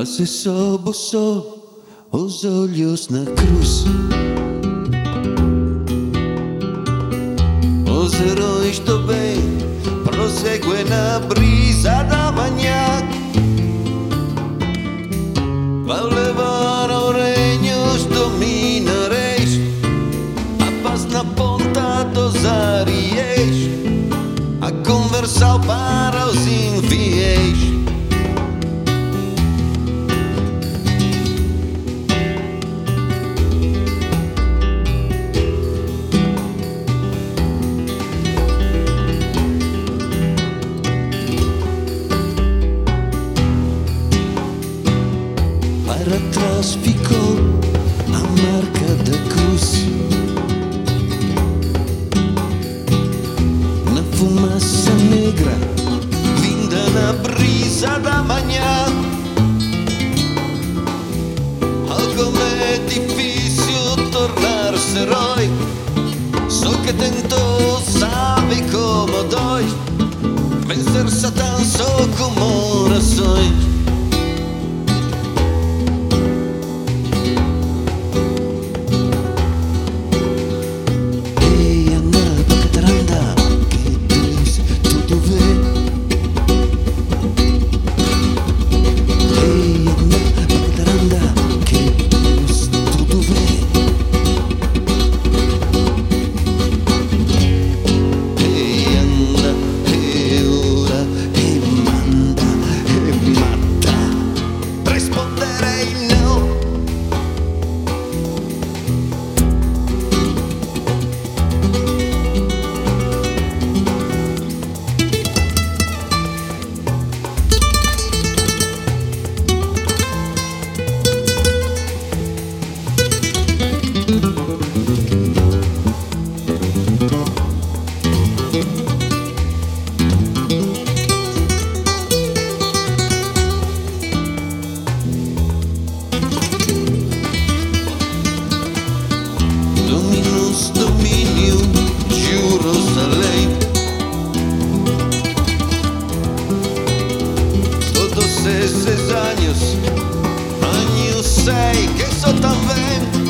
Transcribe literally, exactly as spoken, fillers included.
Quase sobo só os olhos na cruz. Os heróis do bem prosseguem na brisa da manhã. Vai levar ao reino os dominareis, a paz na ponta dos areias, a conversar para os infiéis. Para trás ficou a marca da cruz, na fumaça negra vinda na brisa da manhã. Algo é difícil tornar-se herói, só que tentou sabe como dói vencer Satã só com orações. Domínio Jerusalém, todos esses anos, anos sei que só também